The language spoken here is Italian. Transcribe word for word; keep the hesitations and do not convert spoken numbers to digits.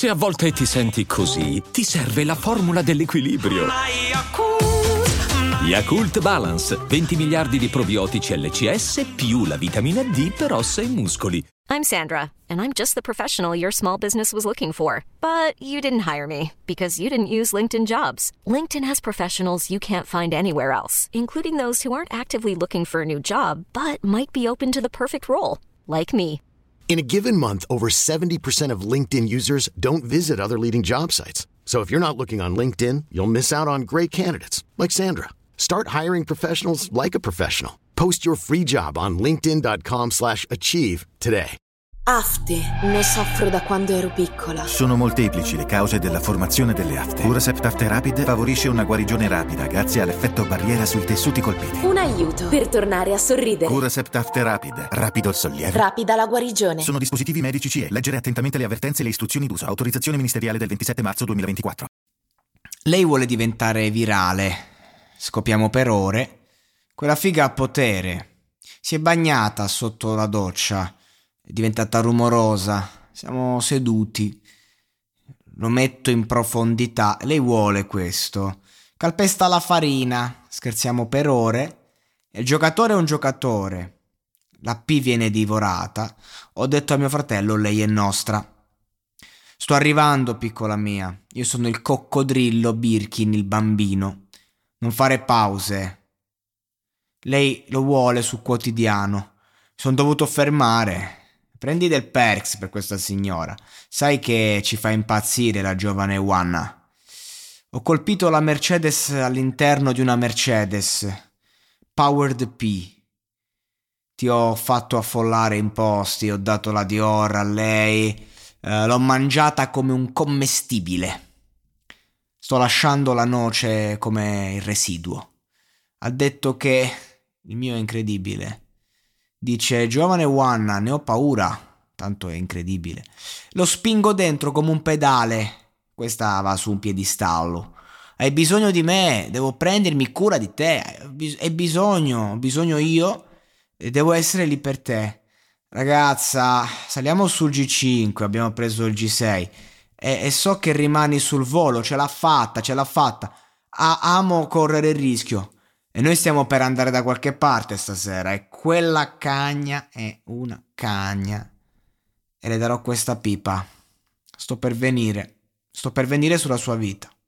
Se a volte ti senti così, ti serve la formula dell'equilibrio. Yakult Balance, venti miliardi di probiotici L C S più la vitamina D per ossa e muscoli. I'm Sandra, and I'm just the professional your small business was looking for. But you didn't hire me because you didn't use LinkedIn Jobs. LinkedIn has professionals you can't find anywhere else, including those who aren't actively looking for a new job, but might be open to the perfect role, like me. In a given month, over seventy percent of LinkedIn users don't visit other leading job sites. So if you're not looking on LinkedIn, you'll miss out on great candidates like Sandra. Start hiring professionals like a professional. Post your free job on linkedin.com slash achieve today. Afte, ne soffro da quando ero piccola. Sono molteplici le cause della formazione delle afte. Curacept Afte Rapid favorisce una guarigione rapida grazie all'effetto barriera sui tessuti colpiti. Un aiuto per tornare a sorridere. Curacept Afte Rapid, rapido il sollievo. Rapida la guarigione. Sono dispositivi medici C E. Leggere attentamente le avvertenze e le istruzioni d'uso. Autorizzazione ministeriale del ventisette marzo duemilaventiquattro. Lei vuole diventare virale. Scopiamo per ore. Quella figa ha potere. Si è bagnata sotto la doccia. È diventata rumorosa. Siamo seduti. Lo metto in profondità. Lei vuole questo. Calpesta la farina. Scherziamo per ore. Il giocatore è un giocatore. La P viene divorata. Ho detto a mio fratello, lei è nostra. Sto arrivando, piccola mia. Io sono il coccodrillo Birkin, il bambino. Non fare pause. Lei lo vuole sul quotidiano. Sono dovuto fermare. Prendi del Perks per questa signora. Sai che ci fa impazzire la giovane Wanna. Ho colpito la Mercedes all'interno di una Mercedes. Powered P. Ti ho fatto affollare in posti, ho dato la Dior a lei, eh, l'ho mangiata come un commestibile. Sto lasciando la noce come il residuo. Ha detto che il mio è incredibile. Dice, giovane Wanna, ne ho paura. Tanto è incredibile. Lo spingo dentro come un pedale. Questa va su un piedistallo. Hai bisogno di me, devo prendermi cura di te. Hai bisogno, ho bisogno io e devo essere lì per te. Ragazza, saliamo sul G cinque, abbiamo preso il G sei e, e so che rimani sul volo, ce l'ha fatta, ce l'ha fatta. Ah, amo correre il rischio. E noi stiamo per andare da qualche parte stasera e quella cagna è una cagna. E le darò questa pipa. Sto per venire. Sto per venire sulla sua vita.